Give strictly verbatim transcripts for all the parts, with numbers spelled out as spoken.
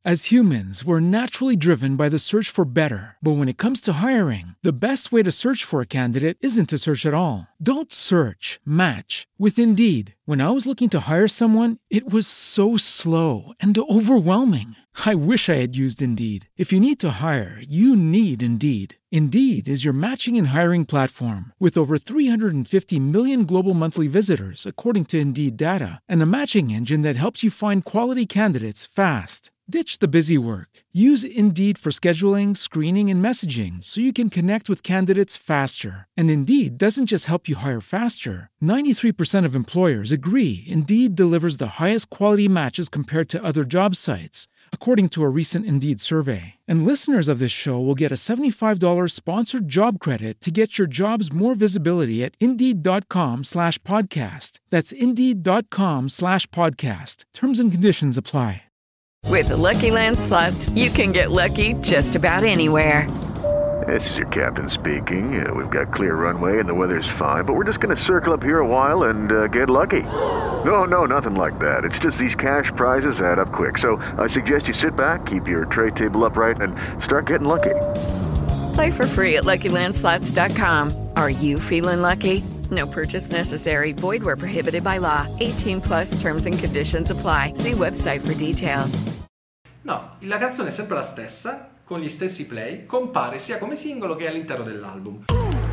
As humans, we're naturally driven by the search for better. But when it comes to hiring, the best way to search for a candidate isn't to search at all. Don't search, match with Indeed. When I was looking to hire someone, it was so slow and overwhelming. I wish I had used Indeed. If you need to hire, you need Indeed. Indeed is your matching and hiring platform with over three hundred fifty million global monthly visitors, according to Indeed data, and a matching engine that helps you find quality candidates fast. Ditch the busy work. Use Indeed for scheduling, screening, and messaging so you can connect with candidates faster. And Indeed doesn't just help you hire faster. ninety-three percent of employers agree Indeed delivers the highest quality matches compared to other job sites, according to a recent Indeed survey. And listeners of this show will get a seventy-five dollars sponsored job credit to get your jobs more visibility at Indeed.com slash podcast. That's Indeed.com slash podcast. Terms and conditions apply. With the Lucky Land Slots, you can get lucky just about anywhere. This is your captain speaking. Uh, we've got clear runway and the weather's fine, but we're just going to circle up here a while and uh, get lucky. No, no, nothing like that. It's just these cash prizes add up quick. So I suggest you sit back, keep your tray table upright, and start getting lucky. Play for free at Lucky Land Slots dot com. Are you feeling lucky? No purchase necessary. Void where prohibited by law. eighteen plus terms and conditions apply. See website for details. No, la canzone è sempre la stessa, con gli stessi play, compare sia come singolo che all'interno dell'album.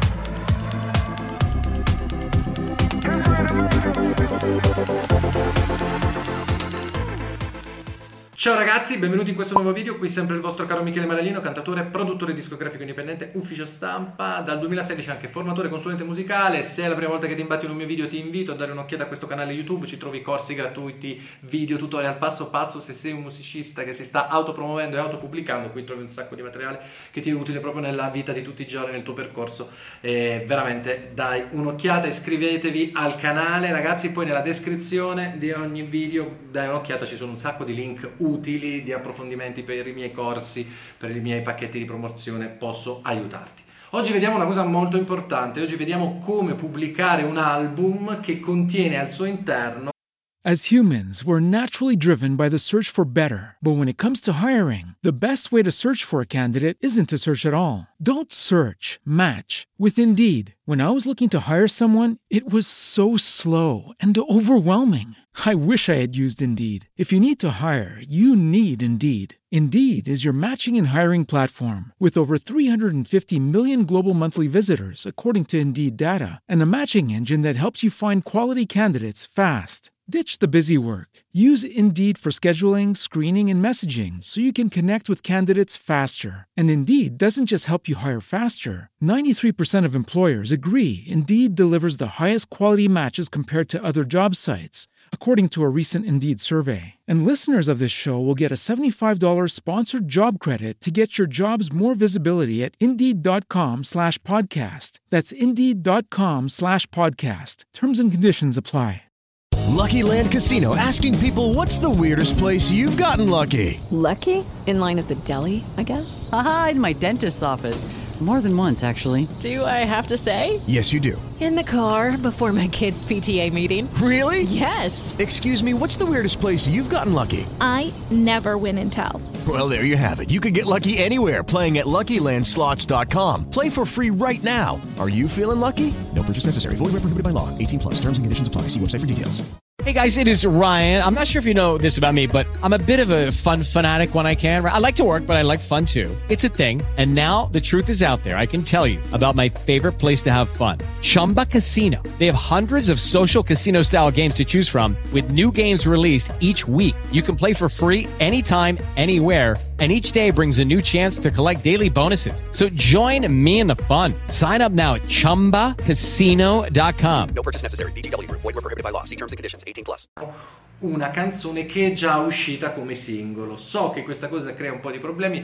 Ciao ragazzi, benvenuti in questo nuovo video, qui sempre il vostro caro Michele Marellino, cantatore, produttore discografico indipendente, ufficio stampa, dal duemilasedici anche formatore, consulente musicale. Se è la prima volta che ti imbatti in un mio video ti invito a dare un'occhiata a questo canale YouTube, ci trovi corsi gratuiti, video, tutorial passo passo. Se sei un musicista che si sta autopromuovendo e autopubblicando, qui trovi un sacco di materiale che ti è utile proprio nella vita di tutti i giorni, nel tuo percorso. E veramente dai un'occhiata, iscrivetevi al canale ragazzi, poi nella descrizione di ogni video dai un'occhiata, ci sono un sacco di link utili di approfondimenti per i miei corsi, per i miei pacchetti di promozione, posso aiutarti. Oggi vediamo una cosa molto importante, oggi vediamo come pubblicare un album che contiene al suo interno. As humans, we're naturally driven by the search for better. But when it comes to hiring, the best way to search for a candidate isn't to search at all. Don't search, match with Indeed. When I was looking to hire someone, it was so slow and overwhelming. I wish I had used Indeed. If you need to hire, you need Indeed. Indeed is your matching and hiring platform with over three hundred fifty million global monthly visitors, according to Indeed data, and a matching engine that helps you find quality candidates fast. Ditch the busy work. Use Indeed for scheduling, screening, and messaging so you can connect with candidates faster. And Indeed doesn't just help you hire faster. ninety-three percent of employers agree Indeed delivers the highest quality matches compared to other job sites, according to a recent Indeed survey. And listeners of this show will get a seventy-five dollars sponsored job credit to get your jobs more visibility at Indeed.com slash podcast. That's Indeed.com slash podcast. Terms and conditions apply. Lucky Land Casino, asking people, what's the weirdest place you've gotten lucky? Lucky? In line at the deli, I guess? Aha, in my dentist's office. More than once, actually. Do I have to say? Yes, you do. In the car before my kids' P T A meeting. Really? Yes. Excuse me, what's the weirdest place you've gotten lucky? I never win and tell. Well, there you have it. You can get lucky anywhere, playing at Lucky Land Slots dot com. Play for free right now. Are you feeling lucky? No purchase necessary. Void where prohibited by law. eighteen plus. Terms and conditions apply. See website for details. Hey guys, it is Ryan. I'm not sure if you know this about me, but I'm a bit of a fun fanatic when I can. I like to work, but I like fun too. It's a thing. And now the truth is out there. I can tell you about my favorite place to have fun. Chumba Casino. They have hundreds of social casino style games to choose from with new games released each week. You can play for free anytime, anywhere. And each day brings a new chance to collect daily bonuses. So join me in the fun. Sign up now at Chumba Casino dot com. No purchase necessary. V G W. Void where prohibited by law. See terms and conditions. eighteen plus. Una canzone che è già uscita come singolo. So che questa cosa crea un po' di problemi.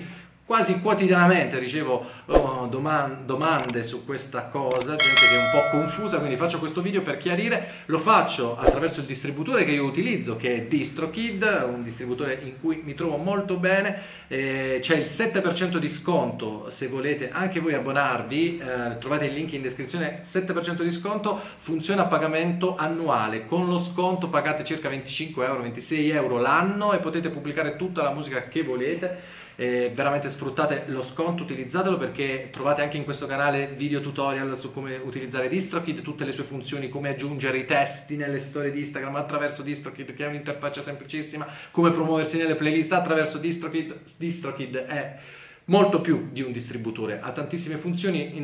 quasi quotidianamente ricevo oh, doman- domande su questa cosa, gente che è un po' confusa, quindi faccio questo video per chiarire. Lo faccio attraverso il distributore che io utilizzo, che è DistroKid, un distributore in cui mi trovo molto bene. Eh, c'è il sette per cento di sconto se volete anche voi abbonarvi, eh, trovate il link in descrizione. Sette per cento di sconto, funziona a pagamento annuale, con lo sconto pagate circa venticinque euro, ventisei euro l'anno e potete pubblicare tutta la musica che volete. Eh, veramente sfruttate lo sconto, utilizzatelo, perché trovate anche in questo canale video tutorial su come utilizzare DistroKid, tutte le sue funzioni, come aggiungere i testi nelle storie di Instagram attraverso DistroKid, che è un'interfaccia semplicissima, come promuoversi nelle playlist attraverso DistroKid. DistroKid è molto più di un distributore, ha tantissime funzioni,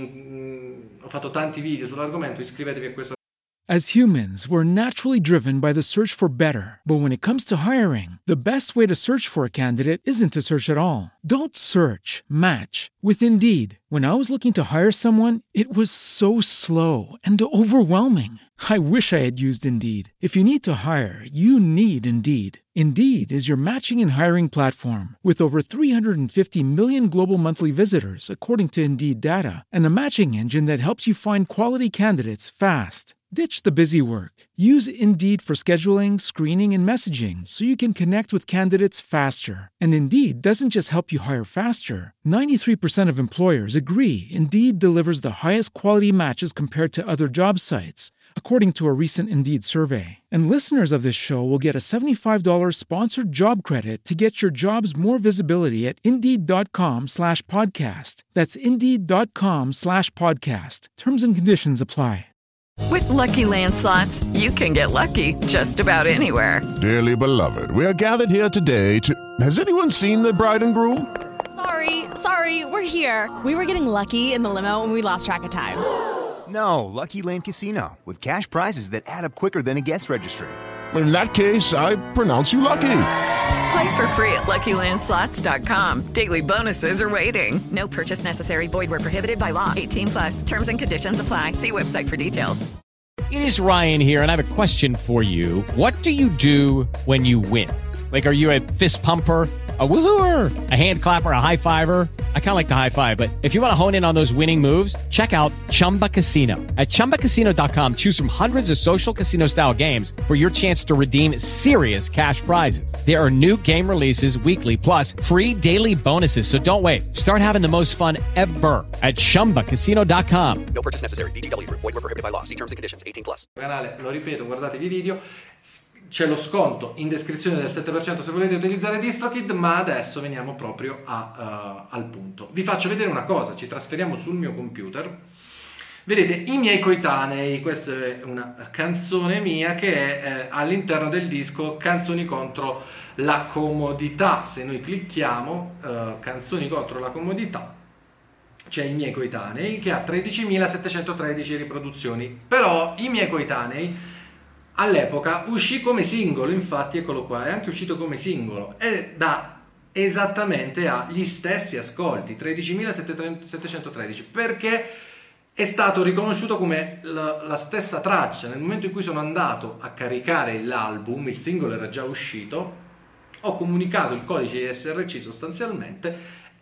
ne... ho fatto tanti video sull'argomento, iscrivetevi a questo. As humans, we're naturally driven by the search for better. But when it comes to hiring, the best way to search for a candidate isn't to search at all. Don't search, match with Indeed. When I was looking to hire someone, it was so slow and overwhelming. I wish I had used Indeed. If you need to hire, you need Indeed. Indeed is your matching and hiring platform with over three hundred fifty million global monthly visitors, according to Indeed data, and a matching engine that helps you find quality candidates fast. Ditch the busy work. Use Indeed for scheduling, screening, and messaging so you can connect with candidates faster. And Indeed doesn't just help you hire faster. ninety-three percent of employers agree Indeed delivers the highest quality matches compared to other job sites, according to a recent Indeed survey. And listeners of this show will get a seventy-five dollars sponsored job credit to get your jobs more visibility at Indeed.com slash podcast. That's Indeed.com slash podcast. Terms and conditions apply. With Lucky Land Slots, you can get lucky just about anywhere. Dearly beloved, we are gathered here today to... Has anyone seen the bride and groom? Sorry, sorry, we're here. We were getting lucky in the limo and we lost track of time. No, Lucky Land Casino, with cash prizes that add up quicker than a guest registry. In that case, I pronounce you lucky. Play for free at Lucky Land Slots dot com. Daily bonuses are waiting. No purchase necessary. Void where prohibited by law. eighteen plus. Terms and conditions apply. See website for details. It is Ryan here, and I have a question for you. What do you do when you win? Like, are you a fist pumper, a woohooer, a hand clapper, a high fiver? I kind of like the high five, but if you want to hone in on those winning moves, check out Chumba Casino. At Chumba Casino dot com, choose from hundreds of social casino-style games for your chance to redeem serious cash prizes. There are new game releases weekly, plus free daily bonuses, so don't wait. Start having the most fun ever at Chumba Casino dot com. No purchase necessary. V G W. Void where prohibited by law. See terms and conditions. eighteen plus. Canale, lo ripeto, guardatevi i video. C'è lo sconto in descrizione del sette per cento se volete utilizzare DistroKid, ma adesso veniamo proprio a, uh, al punto. Vi faccio vedere una cosa, ci trasferiamo sul mio computer. Vedete, i miei coetanei, questa è una canzone mia che è eh, all'interno del disco Canzoni contro la comodità. Se noi clicchiamo uh, Canzoni contro la comodità, c'è i miei coetanei che ha tredicimilasettecentotredici riproduzioni, però i miei coetanei all'epoca uscì come singolo, infatti eccolo qua, è anche uscito come singolo e da esattamente agli stessi ascolti, tredicimilasettecentotredici, perché è stato riconosciuto come la, la stessa traccia. Nel momento in cui sono andato a caricare l'album, il singolo era già uscito, ho comunicato il codice I S R C sostanzialmente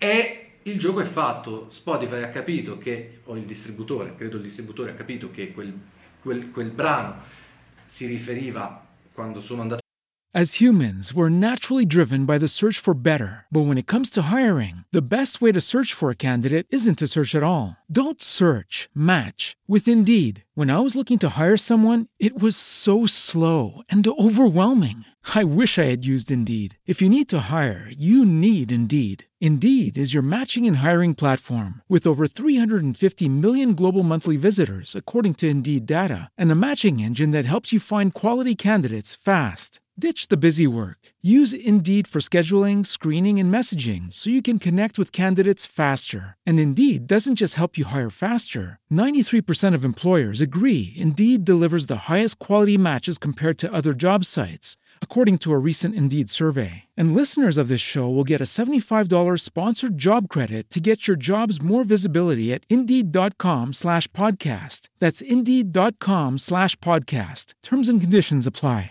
e il gioco è fatto. Spotify ha capito che, o il distributore, credo il distributore ha capito che quel, quel, quel brano si riferiva quando sono andato. As humans, we're naturally driven by the search for better. But when it comes to hiring, the best way to search for a candidate isn't to search at all. Don't search, match with Indeed. When I was looking to hire someone, it was so slow and overwhelming. I wish I had used Indeed. If you need to hire, you need Indeed. Indeed is your matching and hiring platform with over three hundred fifty million global monthly visitors, according to Indeed data, and a matching engine that helps you find quality candidates fast. Ditch the busy work. Use Indeed for scheduling, screening, and messaging so you can connect with candidates faster. And Indeed doesn't just help you hire faster. ninety-three percent of employers agree Indeed delivers the highest quality matches compared to other job sites, according to a recent Indeed survey. And listeners of this show will get a seventy-five dollars sponsored job credit to get your jobs more visibility at Indeed.com slash podcast. That's Indeed.com slash podcast. Terms and conditions apply.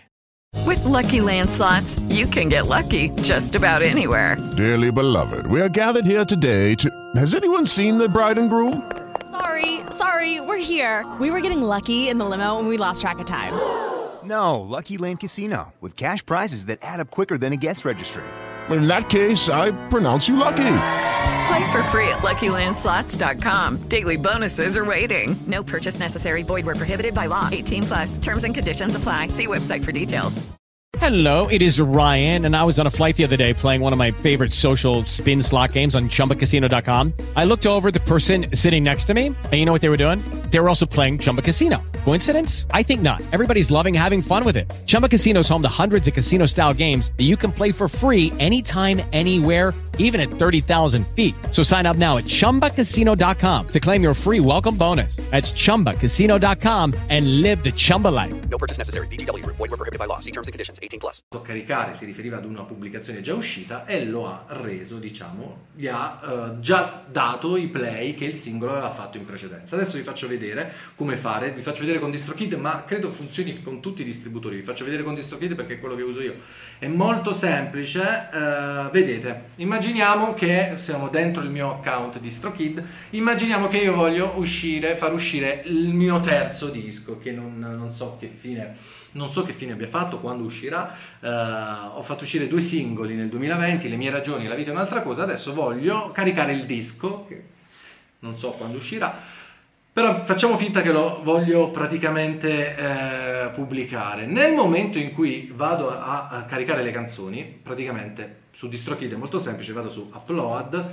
With Lucky Land Slots, you can get lucky just about anywhere. Dearly beloved, we are gathered here today to... Has anyone seen the bride and groom? Sorry, sorry, we're here. We were getting lucky in the limo and we lost track of time. No, Lucky Land Casino, with cash prizes that add up quicker than a guest registry. In that case, I pronounce you lucky. Play for free at Lucky Land Slots dot com. Daily bonuses are waiting. No purchase necessary. Void where prohibited by law. eighteen plus. Terms and conditions apply. See website for details. Hello, it is Ryan, and I was on a flight the other day playing one of my favorite social spin slot games on Chumba Casino dot com. I looked over at the person sitting next to me, and you know what they were doing? They were also playing Chumba Casino. Coincidence? I think not. Everybody's loving having fun with it. Chumba Casino is home to hundreds of casino-style games that you can play for free anytime, anywhere, even at thirty thousand feet. So sign up now at Chumba Casino dot com to claim your free welcome bonus. That's Chumba Casino dot com and live the Chumba life. No purchase necessary. V G W. Void where prohibited by law. See terms and conditions. eighteen plus. Caricare si riferiva ad una pubblicazione già uscita e lo ha reso, diciamo, gli ha uh, già dato i play che il singolo aveva fatto in precedenza. Adesso vi faccio vedere come fare, vi faccio vedere con DistroKid, ma credo funzioni con tutti i distributori. Vi faccio vedere con DistroKid perché è quello che uso io. È molto semplice, uh, vedete, immaginiamo che siamo dentro il mio account DistroKid, immaginiamo che io voglio uscire, far uscire il mio terzo disco, che non, non so che fine non so che fine abbia fatto, quando uscirà. Uh, ho fatto uscire due singoli nel duemilaventi, Le mie ragioni, La vita è un'altra cosa. Adesso voglio caricare il disco, che non so quando uscirà, però facciamo finta che lo voglio praticamente eh, pubblicare. Nel momento in cui vado a, a caricare le canzoni, praticamente su DistroKid è molto semplice, vado su Upload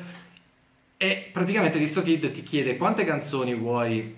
e praticamente DistroKid ti chiede quante canzoni vuoi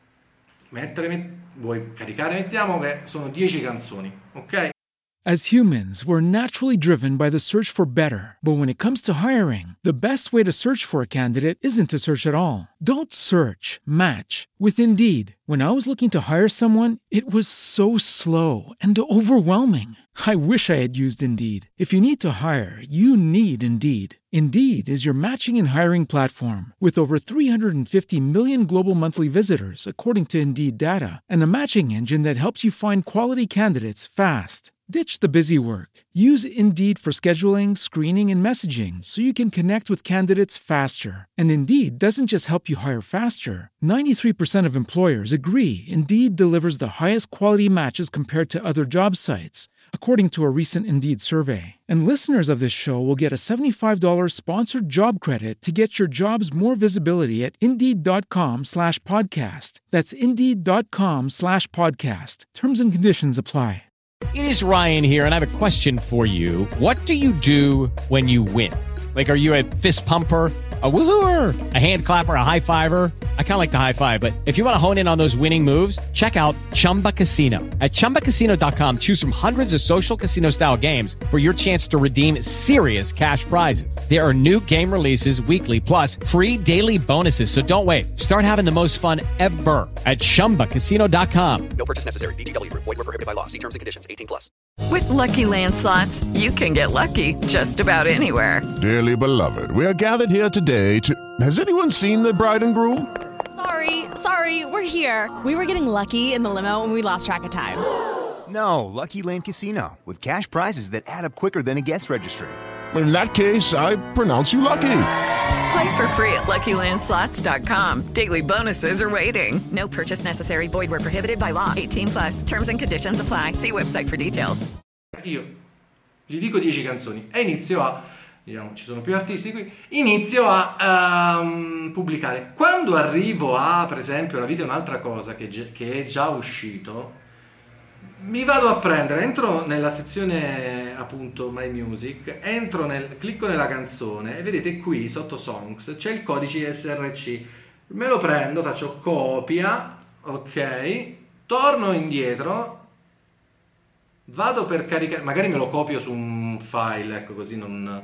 mettere, vuoi caricare. Mettiamo che sono dieci canzoni, ok? As humans, we're naturally driven by the search for better. But when it comes to hiring, the best way to search for a candidate isn't to search at all. Don't search, match with Indeed. When I was looking to hire someone, it was so slow and overwhelming. I wish I had used Indeed. If you need to hire, you need Indeed. Indeed is your matching and hiring platform with over three hundred fifty million global monthly visitors, according to Indeed data, and a matching engine that helps you find quality candidates fast. Ditch the busy work. Use Indeed for scheduling, screening, and messaging so you can connect with candidates faster. And Indeed doesn't just help you hire faster. ninety-three percent of employers agree Indeed delivers the highest quality matches compared to other job sites, according to a recent Indeed survey. And listeners of this show will get a seventy-five dollars sponsored job credit to get your jobs more visibility at Indeed.com slash podcast. That's Indeed.com slash podcast. Terms and conditions apply. It is Ryan here, and I have a question for you. What do you do when you win? Like, are you a fist pumper, a woohooer, a hand clapper, a high fiver? I kind of like the high five, but if you want to hone in on those winning moves, check out Chumba Casino. At Chumba Casino dot com, choose from hundreds of social casino-style games for your chance to redeem serious cash prizes. There are new game releases weekly, plus free daily bonuses, so don't wait. Start having the most fun ever at Chumba Casino dot com. No purchase necessary. V G W. Void where prohibited by law. See terms and conditions. eighteen plus. With Lucky Land Slots, you can get lucky just about anywhere. Dearly beloved, we are gathered here today to... Has anyone seen the bride and groom? Sorry, sorry, we're here. We were getting lucky in the limo and we lost track of time. No, Lucky Land Casino, with cash prizes that add up quicker than a guest registry. In that case, I pronounce you lucky. Play for free at Lucky Land Slots dot com. Daily bonuses are waiting. No purchase necessary. Void where prohibited by law. eighteen plus. Terms and conditions apply. See website for details. Io gli dico dieci canzoni e inizio a, diciamo, ci sono più artisti qui, inizio a um, pubblicare. Quando arrivo a, per esempio, La vita è un'altra cosa, che, che è già uscito, mi vado a prendere, entro nella sezione appunto My Music, entro nel, clicco nella canzone e vedete qui sotto Songs c'è il codice S R C. Me lo prendo, faccio copia, ok, torno indietro, vado per caricare, magari me lo copio su un file, ecco, così non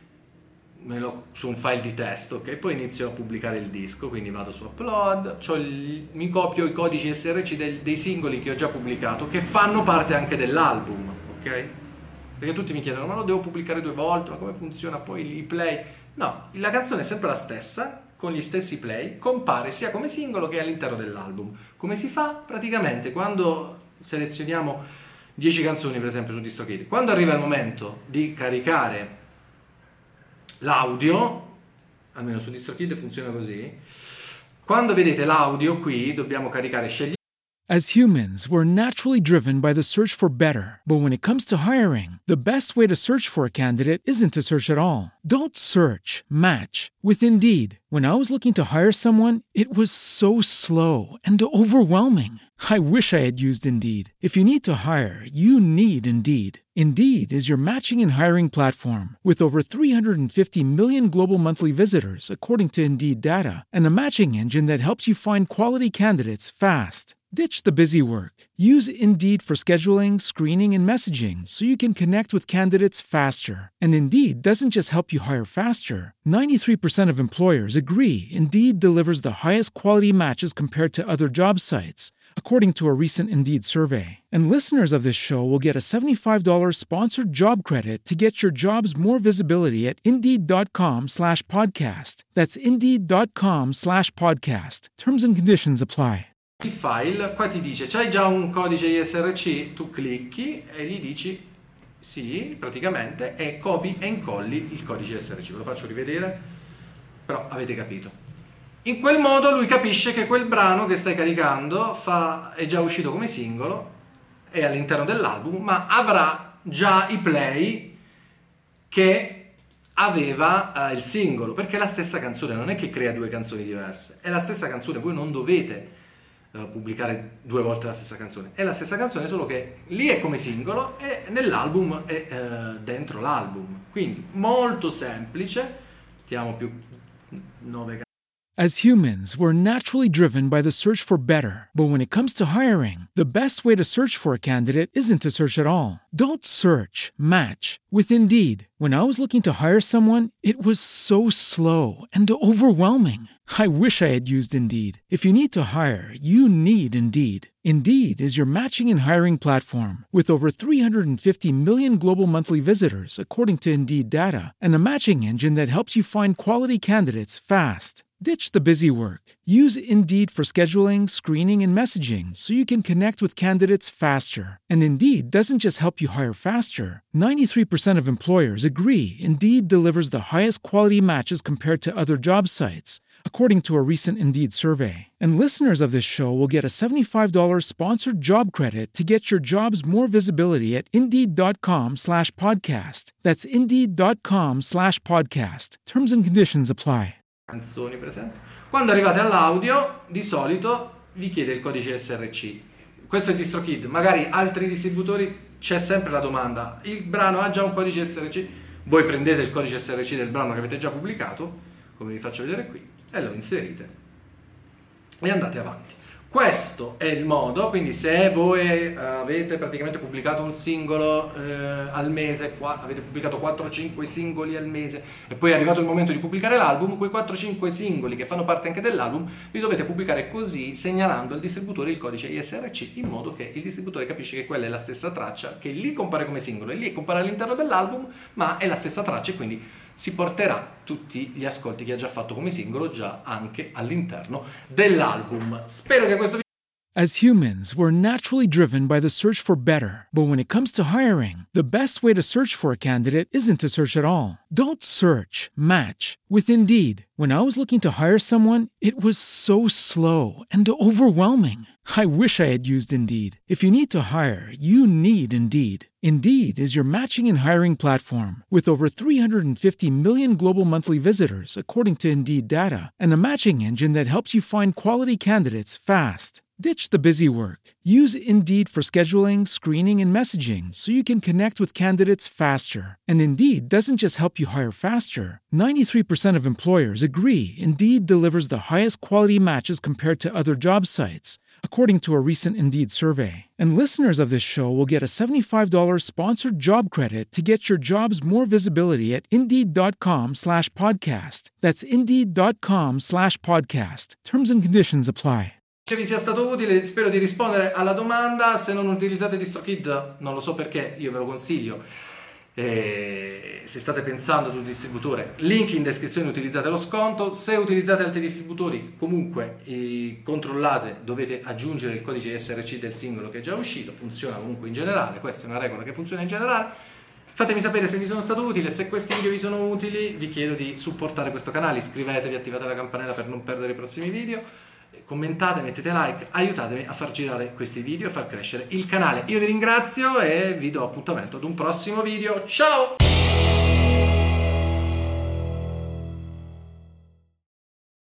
me lo, su un file di testo, ok, poi inizio a pubblicare il disco, quindi vado su Upload, c'ho il, mi copio i codici S R C del, dei singoli che ho già pubblicato, che fanno parte anche dell'album, ok? Perché tutti mi chiedono, ma lo devo pubblicare due volte, ma come funziona poi i play? No, la canzone è sempre la stessa, con gli stessi play, compare sia come singolo che all'interno dell'album. Come si fa? Praticamente quando selezioniamo dieci canzoni per esempio su DistroKid. Quando arriva il momento di caricare l'audio, almeno su DistroKid funziona così, quando vedete l'audio qui dobbiamo caricare scegli. As humans, we're naturally driven by the search for better. But when it comes to hiring, the best way to search for a candidate isn't to search at all. Don't search, match with Indeed. When I was looking to hire someone, it was so slow and overwhelming. I wish I had used Indeed. If you need to hire, you need Indeed. Indeed is your matching and hiring platform with over three hundred fifty million global monthly visitors, according to Indeed data, and a matching engine that helps you find quality candidates fast. Ditch the busy work. Use Indeed for scheduling, screening, and messaging so you can connect with candidates faster. And Indeed doesn't just help you hire faster. ninety-three percent of employers agree Indeed delivers the highest quality matches compared to other job sites, according to a recent Indeed survey. And listeners of this show will get a seventy-five dollars sponsored job credit to get your jobs more visibility at Indeed.com slash podcast. That's Indeed.com slash podcast. Terms and conditions apply. Il file, qua ti dice, c'hai già un codice I S R C? Tu clicchi e gli dici sì, praticamente, e copi e incolli il codice I S R C. Ve lo faccio rivedere, però avete capito. In quel modo lui capisce che quel brano che stai caricando fa, è già uscito come singolo, è all'interno dell'album, ma avrà già i play che aveva uh, il singolo, perché è la stessa canzone, non è che crea due canzoni diverse, è la stessa canzone, voi non dovete pubblicare due volte la stessa canzone, è la stessa canzone, solo che lì è come singolo e nell'album è eh, dentro l'album, quindi molto semplice. Mettiamo più nove. As humans, we're naturally driven by the search for better. But when it comes to hiring, the best way to search for a candidate isn't to search at all. Don't search, match with Indeed. When I was looking to hire someone, it was so slow and overwhelming. I wish I had used Indeed. If you need to hire, you need Indeed. Indeed is your matching and hiring platform with over three hundred fifty million global monthly visitors, according to Indeed data, and a matching engine that helps you find quality candidates fast. Ditch the busy work. Use Indeed for scheduling, screening, and messaging so you can connect with candidates faster. And Indeed doesn't just help you hire faster. ninety-three percent of employers agree Indeed delivers the highest quality matches compared to other job sites, according to a recent Indeed survey. And listeners of this show will get a seventy-five dollars sponsored job credit to get your jobs more visibility at Indeed.com slash podcast. That's Indeed.com slash podcast. Terms and conditions apply. Canzoni, per esempio. Quando arrivate all'audio, di solito vi chiede il codice I S R C. Questo è DistroKid, magari altri distributori c'è sempre la domanda: il brano ha già un codice I S R C? Voi prendete il codice I S R C del brano che avete già pubblicato, come vi faccio vedere qui, e lo inserite e andate avanti. Questo è il modo, quindi se voi avete praticamente pubblicato un singolo eh, al mese, qua, avete pubblicato quattro cinque singoli al mese e poi è arrivato il momento di pubblicare l'album, quei quattro cinque singoli che fanno parte anche dell'album li dovete pubblicare così, segnalando al distributore il codice I S R C, in modo che il distributore capisce che quella è la stessa traccia, che lì compare come singolo e lì compare all'interno dell'album, ma è la stessa traccia e quindi si porterà tutti gli ascolti che ha già fatto come singolo già anche all'interno dell'album. Spero che questo video... As humans, we're naturally driven by the search for better. But when it comes to hiring, the best way to search for a candidate isn't to search at all. Don't search, match with Indeed. When I was looking to hire someone, it was so slow and overwhelming. I wish I had used Indeed. If you need to hire, you need Indeed. Indeed is your matching and hiring platform with over three hundred fifty million global monthly visitors, according to Indeed data, and a matching engine that helps you find quality candidates fast. Ditch the busy work. Use Indeed for scheduling, screening, and messaging so you can connect with candidates faster. And Indeed doesn't just help you hire faster. ninety-three percent of employers agree Indeed delivers the highest quality matches compared to other job sites, according to a recent Indeed survey. And listeners of this show will get a seventy-five dollars sponsored job credit to get your jobs more visibility at Indeed.com slash podcast. That's Indeed.com slash podcast. Terms and conditions apply. Che vi sia stato utile, spero di rispondere alla domanda. Se non utilizzate DistroKid, non lo so perché, io ve lo consiglio. E se state pensando ad un distributore, link in descrizione, utilizzate lo sconto. Se utilizzate altri distributori, comunque eh, controllate, dovete aggiungere il codice S R C del singolo che è già uscito, funziona comunque in generale, questa è una regola che funziona in generale. Fatemi sapere se vi sono stato utile, se questi video vi sono utili vi chiedo di supportare questo canale, iscrivetevi, attivate la campanella per non perdere i prossimi video, commentate, mettete like, aiutatemi a far girare questi video e far crescere il canale. Io vi ringrazio e vi do appuntamento ad un prossimo video, ciao!